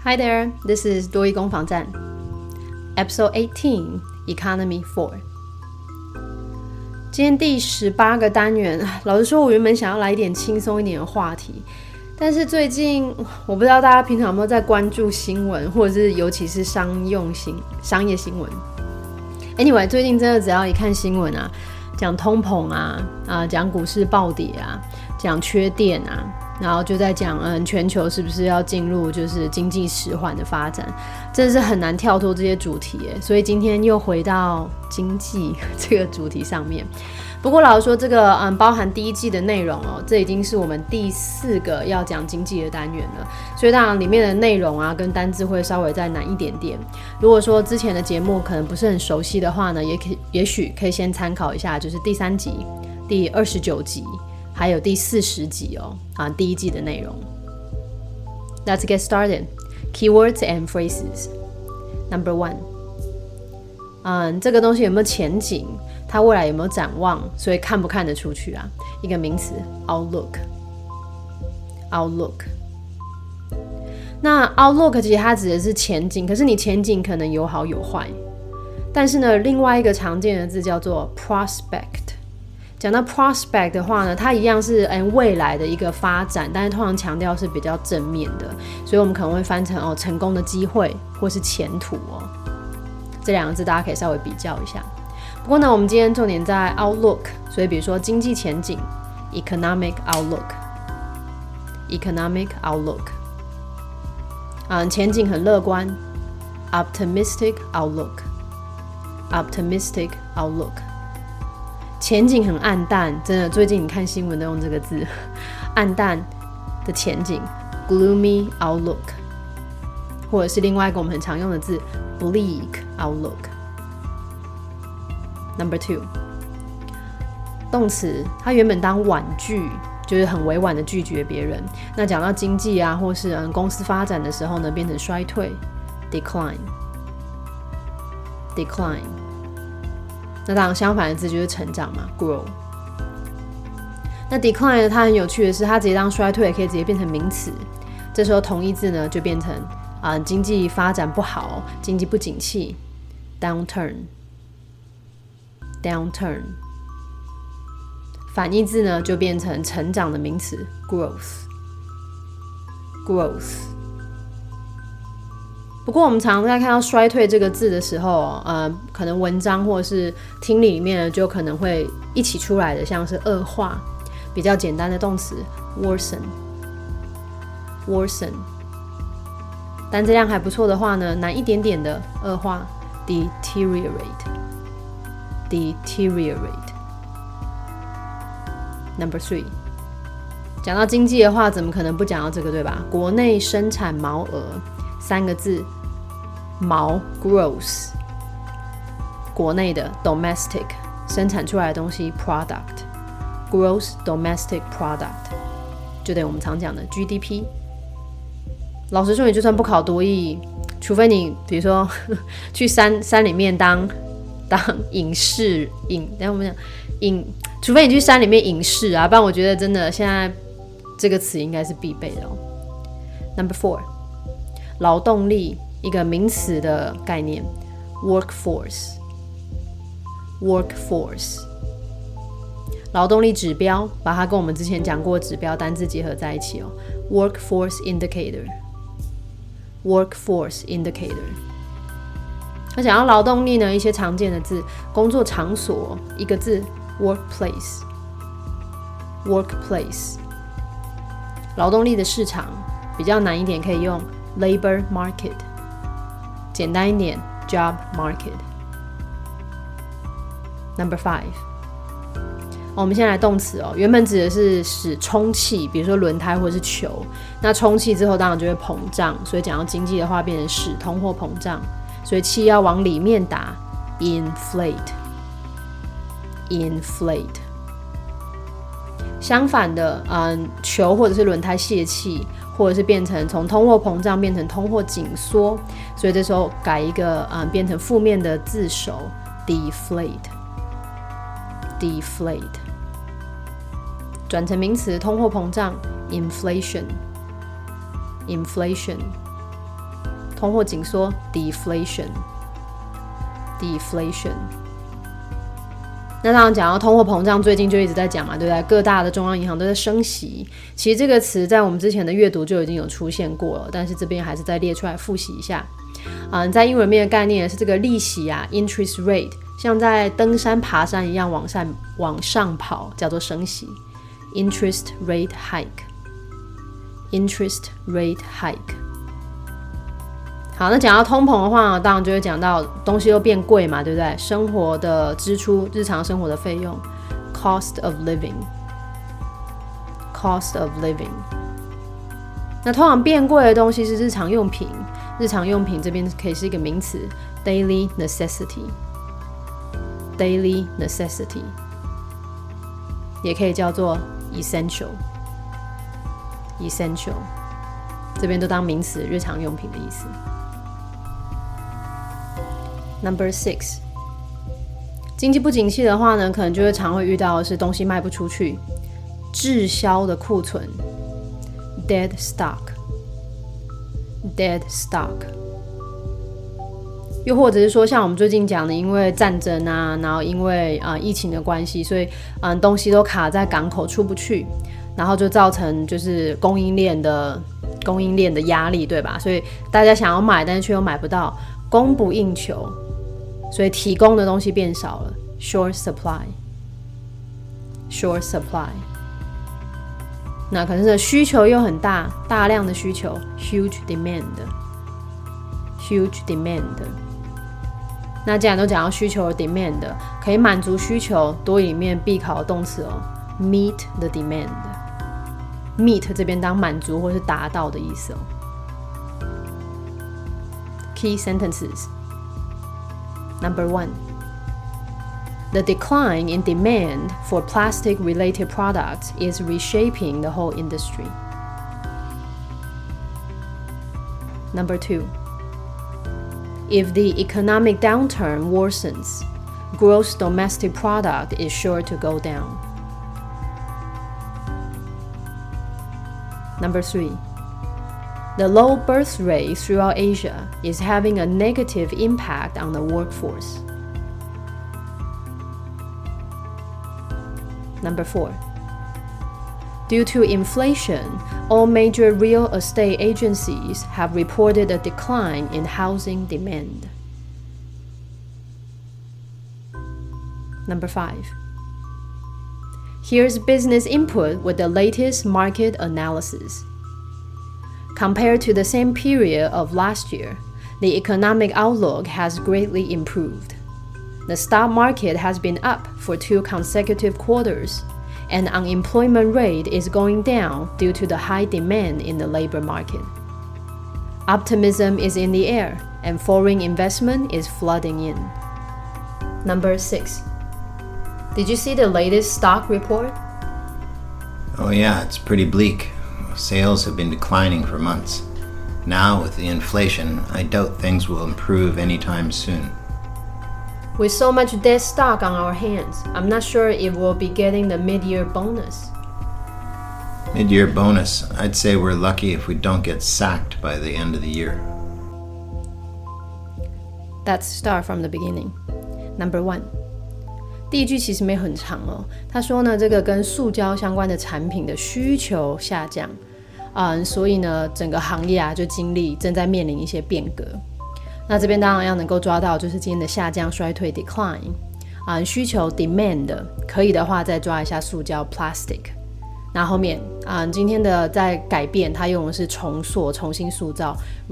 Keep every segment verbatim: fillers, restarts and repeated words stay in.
Hi there, this is 多益攻防战 Episode eighteen, Economy four。 今天第十八个单元，老实说我原本想要来一点轻松一点的话题，但是最近我不知道大家平常有没有在关注新闻，或者是尤其是商用新商业新闻。 Anyway， 最近真的只要一看新闻啊，讲通膨啊，啊讲股市暴跌啊，讲缺电啊，然后就在讲嗯全球是不是要进入就是经济迟缓的发展，真的是很难跳脱这些主题耶。所以今天又回到经济这个主题上面。不过老实说，这个嗯包含第一季的内容哦，这已经是我们第四个要讲经济的单元了，所以当然里面的内容啊跟单字会稍微再难一点点。如果说之前的节目可能不是很熟悉的话呢，也可以也许可以先参考一下，就是第三集、第二十九集还有第四十集哦啊第一季的内容。Let's get started. Keywords and phrases. Number one. 嗯，这个东西有没有前景？它未来有没有展望？所以看不看得出去啊？一个名词 outlook outlook。那 outlook 其实它指的是前景，可是你前景可能有好有坏。但是呢，另外一个常见的字叫做 prospect。讲到 prospect 的话呢，它一样是、欸、未来的一个发展，但是通常强调是比较正面的，所以我们可能会翻成哦成功的机会或是前途哦。这两个字大家可以稍微比较一下。不过呢，我们今天重点在 outlook， 所以比如说经济前景 economic outlook economic outlook、嗯、前景很乐观 optimistic outlook optimistic outlook。前景很暗淡，真的最近你看新闻都用这个字，暗淡的前景 gloomy outlook， 或者是另外一个我们很常用的字 bleak outlook。Number two， 动词它原本当婉拒，就是很委婉的拒绝别人。那讲到经济啊，或是、嗯、公司发展的时候呢，变成衰退 decline decline。那当然相反的字就是成长嘛 grow。 那 decline 呢，它很有趣的是它直接当衰退也可以直接变成名词，这时候同义字呢就变成、呃、经济发展不好，经济不景气 downturn downturn。 反义字呢就变成成长的名词 growth growth。不过我们常常在看到衰退这个字的时候、呃、可能文章或是听力里面就可能会一起出来的，像是恶化，比较简单的动词 worsen worsen。 单字量还不错的话呢，难一点点的恶化 deteriorate deteriorate。 Number three， 讲到经济的话怎么可能不讲到这个，对吧？国内生产毛额三个字，毛 gross， 国内的 domestic， 生产出来的东西 product， gross domestic product 就等于我们常讲的 G D P。 老实说，你就算不考多益，除非你比如说去山山里面当当隐士隐，等一下我们讲隐，除非你去山里面隐士啊，不然我觉得真的现在这个词应该是必备的哦。 Number four， 劳动力一个名词的概念 workforce workforce。 劳动力指标把它跟我们之前讲过的指标单字结合在一起哦 workforce indicator workforce indicator。 那讲到劳动力呢，一些常见的字，工作场所一个字 workplace workplace。 劳动力的市场比较难一点，可以用 labor market， 简单一点 job market。 Number five， 我们先来动词哦，原本指的是使充气，比如说轮胎或是球，那充气之后当然就会膨胀，所以讲到经济的话变成使通货膨胀，所以气要往里面打 inflate inflate。 相反的、嗯、球或者是轮胎泄气，或者是变成从通货膨胀变成通货紧缩，所以这时候改一个、嗯、变成负面的字首 deflate deflate。 转成名词通货膨胀 inflation inflation。 通货紧缩 deflation deflation。那当然讲到通货膨胀，最近就一直在讲嘛，对不对？各大的中央银行都在升息。其实这个词在我们之前的阅读就已经有出现过了，但是这边还是再列出来复习一下。嗯，在英文面的概念是这个利息啊 ，interest rate， 像在登山爬山一样往上往上跑，叫做升息 ，interest rate hike，interest rate hike。好，那讲到通膨的话，当然就会讲到东西都变贵嘛，对不对？生活的支出，日常生活的费用 ，cost of living，cost of living。那通常变贵的东西是日常用品，日常用品这边可以是一个名词 ，daily necessity，daily necessity， 也可以叫做 essential，essential， 这边都当名词，日常用品的意思。Number six， 经济不景气的话呢，可能就会常会遇到的是东西卖不出去，滞销的库存 ，dead stock，dead stock。又或者是说，像我们最近讲的，因为战争啊，然后因为啊、呃、疫情的关系，所以嗯、呃、东西都卡在港口出不去，然后就造成就是供应链的供应链的压力，对吧？所以大家想要买，但是却又买不到，供不应求。所以提供的东西变少了 ，short supply，short supply。那可是需求又很大，大量的需求 ，huge demand，huge demand。那既然都讲到需求的 demand， 可以满足需求，多里面必考的动词哦 ，meet the demand。meet 这边当满足或是达到的意思哦。Key sentences。Number one, the decline in demand for plastic-related products is reshaping the whole industry. Number two, if the economic downturn worsens, gross domestic product is sure to go down. Number three, the low birth rate throughout Asia is having a negative impact on the workforce. Number four, due to inflation, all major real estate agencies have reported a decline in housing demand. Number five, here's business input with the latest market analysis. Compared to the same period of last year, the economic outlook has greatly improved. The stock market has been up for two consecutive quarters, and unemployment rate is going down due to the high demand in the labor market. Optimism is in the air, and foreign investment is flooding in. Number six. Did you see the latest stock report? Oh yeah, it's pretty bleak. Sales have been declining for months. Now, with the inflation, I doubt things will improve anytime soon. With so much dead stock on our hands, I'm not sure if we'll be getting the mid-year bonus. Mid-year bonus, I'd say we're lucky if we don't get sacked by the end of the year. Let's start from the beginning. Number one. 第一句其实没很长哦，他说呢，这个跟塑胶相关的产品的需求下降，嗯，所以呢，整个行业啊就经历正在面临一些变革。那这边当然要能够抓到就是今天的下降、衰退 decline， 嗯，需求 demand， 可以的话再抓一下塑胶 plastic。那后面嗯，今天的在改变，它用的是重塑、重新塑造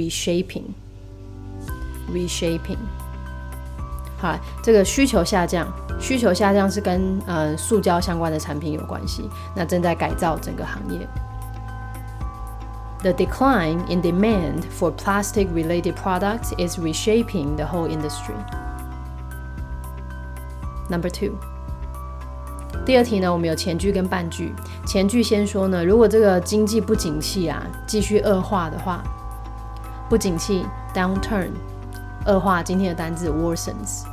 reshaping，reshaping。好，这个需求下降，需求下降是跟呃塑胶相关的产品有关系，那正在改造整个行业。The decline in demand for plastic-related products is reshaping the whole industry. Number two. 第二题呢，我们有前句跟半句。前句先说呢，如果这个经济不景气啊继续恶化的话，不景气 downturn， 恶化今天的单字 worsens。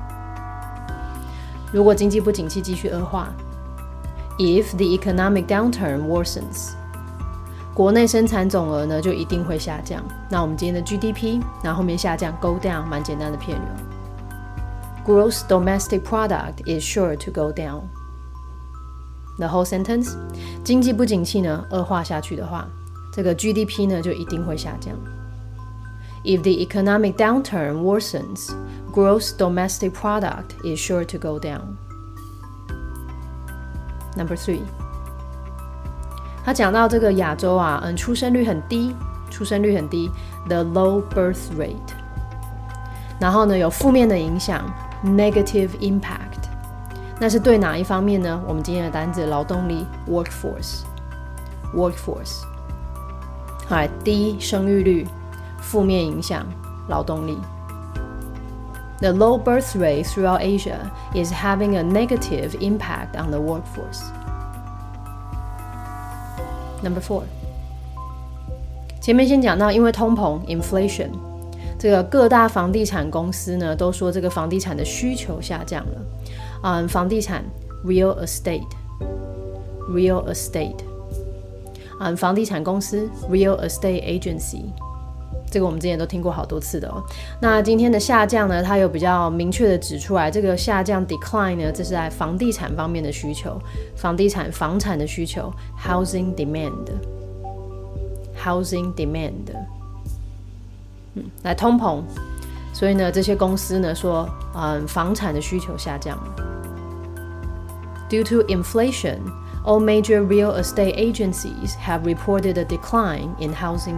如果经济不景气继续恶化 ，if the economic downturn worsens， 国内生产总额呢就一定会下降。那我们今天的 G D P， 然后后面下降 go down， 蛮简单的片语。Gross domestic product is sure to go down. The whole sentence， 经济不景气呢恶化下去的话，这个 G D P 呢就一定会下降。If the economic downturn worsens, gross domestic product is sure to go down. Number three， 他讲到这个亚洲啊，嗯，出生率很低，出生率很低 ，the low birth rate。然后呢，有负面的影响 ，negative impact。那是对哪一方面呢？我们今天的单字劳动力 workforce，workforce。好，低生育率，负面影响劳动力。The low birth rate throughout Asia is having a negative impact on the workforce. Number four， 前面先讲到，因为通膨 inflation， 这个各大房地产公司呢都说这个房地产的需求下降了。嗯，房地产 real estate，real estate， 嗯，房地产公司 real estate agency。这个我们之前都听过好多次的哦。那今天的下降呢，它有比较明确的指出来，这个下降 decline 呢，这是在房地产方面的需求，房地产房产的需求 housing demand，housing demand， 嗯，来通膨，所以呢，这些公司呢说，嗯，房产的需求下降了。Due to inflation, all major real estate agencies have reported a decline in housing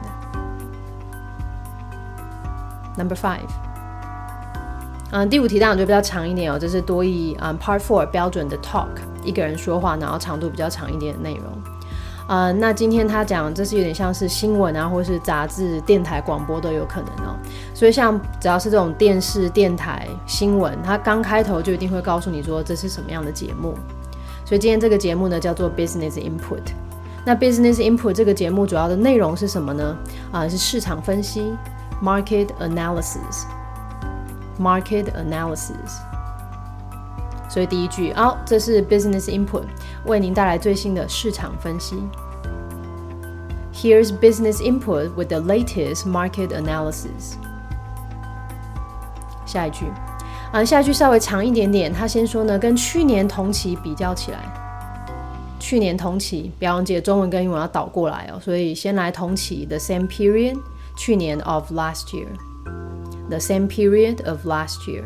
demand.Number five， 嗯，第五题当然就比较长一点哦，这是多益嗯 Part Four 标准的 talk， 一个人说话，然后长度比较长一点的内容。呃，那今天他讲这是有点像是新闻啊，或是杂志、电台、广播都有可能哦。所以像只要是这种电视、电台、新闻，它刚开头就一定会告诉你说这是什么样的节目。所以今天这个节目呢叫做 Business Input。那 Business Input 这个节目主要的内容是什么呢？啊、呃，是市场分析。Market analysis, market analysis。所以第一句，哦，这是 business input， 为您带来最新的市场分析。Here's business input with the latest market analysis。下一句，啊，下一句稍微长一点点，他先说呢，跟去年同期比较起来，去年同期，不要忘记中文跟英文要倒过来哦，所以先来同期 the same period。去年 of last year， the same period of last year。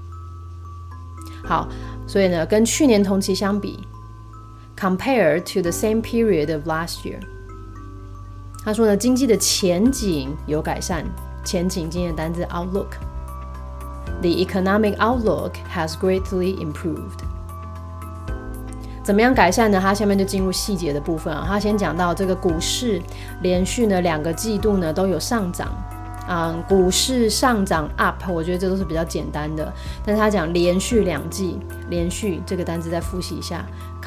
好，所以呢跟去年同期相比 compared to the same period of last year， 他说呢经济的前景有改善，前景今天的单字 outlook， the economic outlook has greatly improved。怎么样改善呢？他下面就进入细节的部分啊。他先讲到这个股市连续呢两个季度呢都有上涨，嗯，股市上涨 up， 我觉得这都是比较简单的。但是他讲连续两季，连续这个单字再复习一下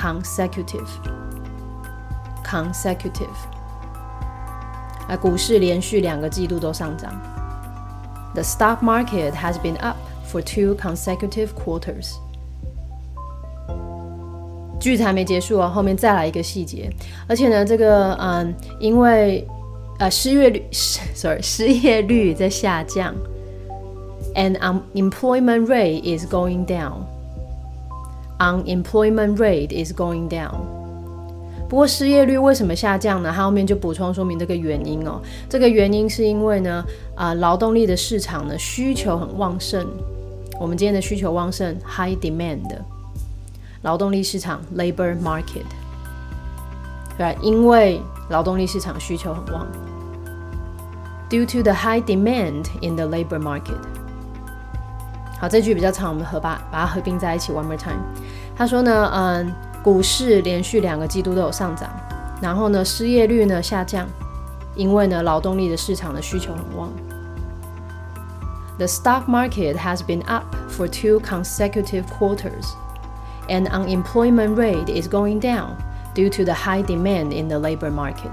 ，consecutive，consecutive， 啊，股市连续两个季度都上涨。The stock market has been up for two consecutive quarters。句子还没结束哦，后面再来一个细节，而且呢，这个嗯，因为呃失业率，sorry， 失业率在下降 ，and unemployment rate is going down。unemployment rate is going down。不过失业率为什么下降呢？它后面就补充说明这个原因哦。这个原因是因为呢，啊、呃，劳动力的市场呢需求很旺盛。我们今天的需求旺盛 ，high demand。劳动力市场 labor market， 对吧？因为劳动力市场需求很旺 ，due to the high demand in the labor market。好，这句比较长，我们合把把它合并在一起 one more time。他说呢，嗯，股市连续两个季度都有上涨，然后呢，失业率呢下降，因为呢，劳动力的市场的需求很旺。The stock market has been up for two consecutive quarters.And unemployment rate is going down due to the high demand in the labor market。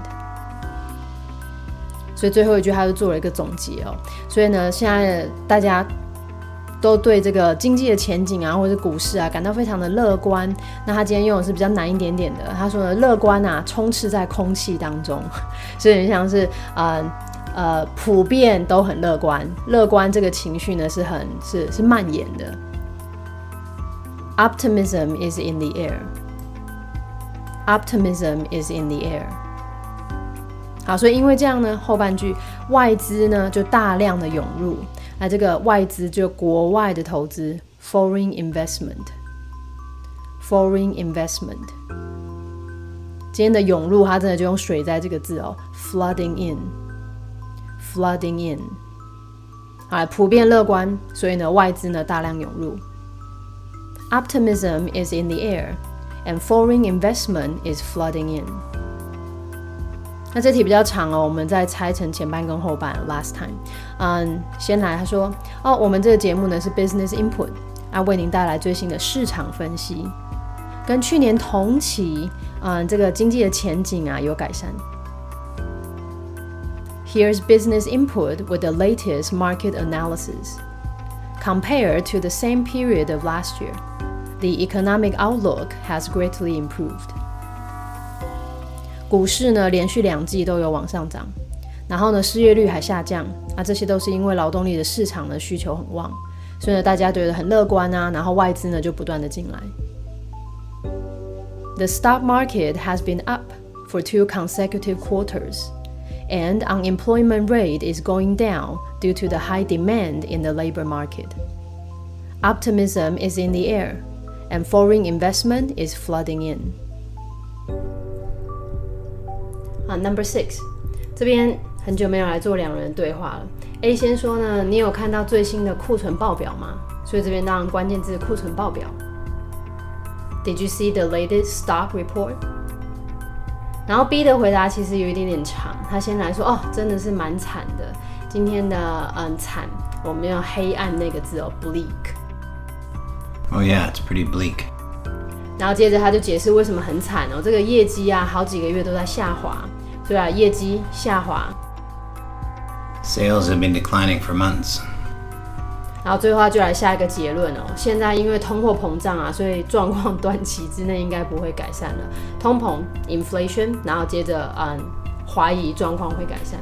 所以最后一句他就做了一个总结哦。所以呢，现在大家都对这个经济的前景啊，或者股市啊感到非常的乐观。那他今天用的是比较难一点点的，他说呢，乐观啊充斥在空气当中，所以很像是呃呃普遍都很乐观，乐观这个情绪呢是很是是蔓延的。Optimism is in the air. Optimism is in the air. 好，所以因为这样呢，后半句外资呢就大量的涌入，那这个外资就国外的投资 ，foreign investment，foreign investment。今天的涌入，它真的就用水在这个字哦 ，flooding in，flooding in。好，普遍乐观，所以呢，外资呢大量涌入。Optimism is in the air, and foreign investment is flooding in. 那这题比较长哦，我们再拆成前半跟后半。Last time， 嗯，先来他说哦，我们这个节目呢是 Business Input， 啊，为您带来最新的市场分析，跟去年同期，嗯，这个经济的前景啊有改善。Here's Business Input with the latest market analysis. Compared to the same period of last year, the economic outlook has greatly improved. 股市呢连续两季都有往上涨，然后呢失业率还下降，啊，这些都是因为劳动力的市场的需求很旺，所以呢大家觉得很乐观啊，然后外资呢就不断的进来。The stock market has been up for two consecutive quarters, and unemployment rate is going down due to the high demand in the labor market. Optimism is in the air, and foreign investment is flooding in. 好 ，Number six， 这边很久没有来做两人对话了。A 先说呢，你有看到最新的库存报表吗？所以这边当然关键字库存报表。Did you see the latest stock report? 然后 B 的回答其实有一点点长，他先来说哦，真的是蛮惨的。今天的嗯惨，我们用黑暗那个字哦 ，bleak。Oh yeah, it's pretty bleak. 然后接着他就解释为什么很惨哦，这个业绩啊，好几个月都在下滑，所以啊，业绩下滑。 Sales have been declining for months. 然后最后他就来下一个结论哦，现在因为通货膨胀啊，所以状况短期之内应该不会改善了。通膨 inflation， 然后接着嗯怀疑状况会改善。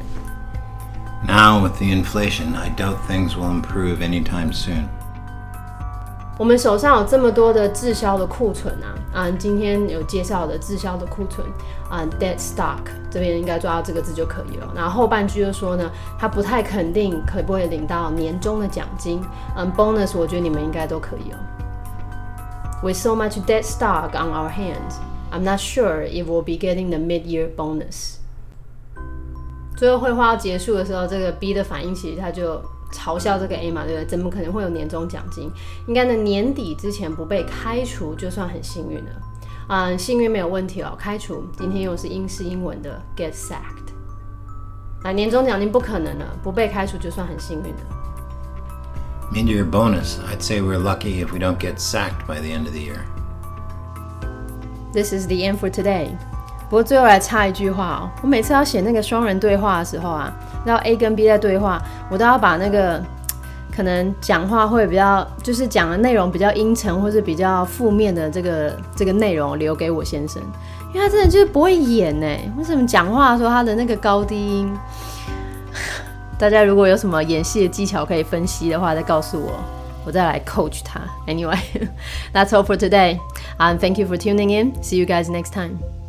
Now with the inflation, I doubt things will improve anytime soon. 我们手上有这么多的滞销的库存啊，嗯，今天有介绍的滞销的库存，嗯 ，dead stock 这边应该抓到这个字就可以了。然后后半句就说呢，他不太肯定可不可以领到年终的奖金，嗯 ，bonus 我觉得你们应该都可以哦。With so much dead stock on our hands, I'm not sure if we'll be getting the mid-year bonus. 最后绘画要结束的时候，这个 B 的反应其实他就嘲笑这个 A 嘛，对不对？怎么可能会有年终奖金？应该呢年底之前不被开除就算很幸运了。嗯，幸运没有问题哦。开除今天用的是英式英文的 get sacked。那年终奖金不可能了，不被开除就算很幸运了。 Mid-year bonus, I'd say we're lucky if we don't get sacked by the end of the year. This is the end for today. 不过最后来插一句话哦，我每次要写那个双人对话的时候啊，然后 A 跟 B 在对话，我都要把那个可能讲话会比较，就是讲的内容比较阴沉或是比较负面的这个这个内容留给我先生，因为他真的就是不会演耶，为什么讲话的时候他的那个高低音？大家如果有什么演戏的技巧可以分析的话，再告诉我，我再来 coach 他。Anyway, that's all for today. Um, thank you for tuning in. See you guys next time.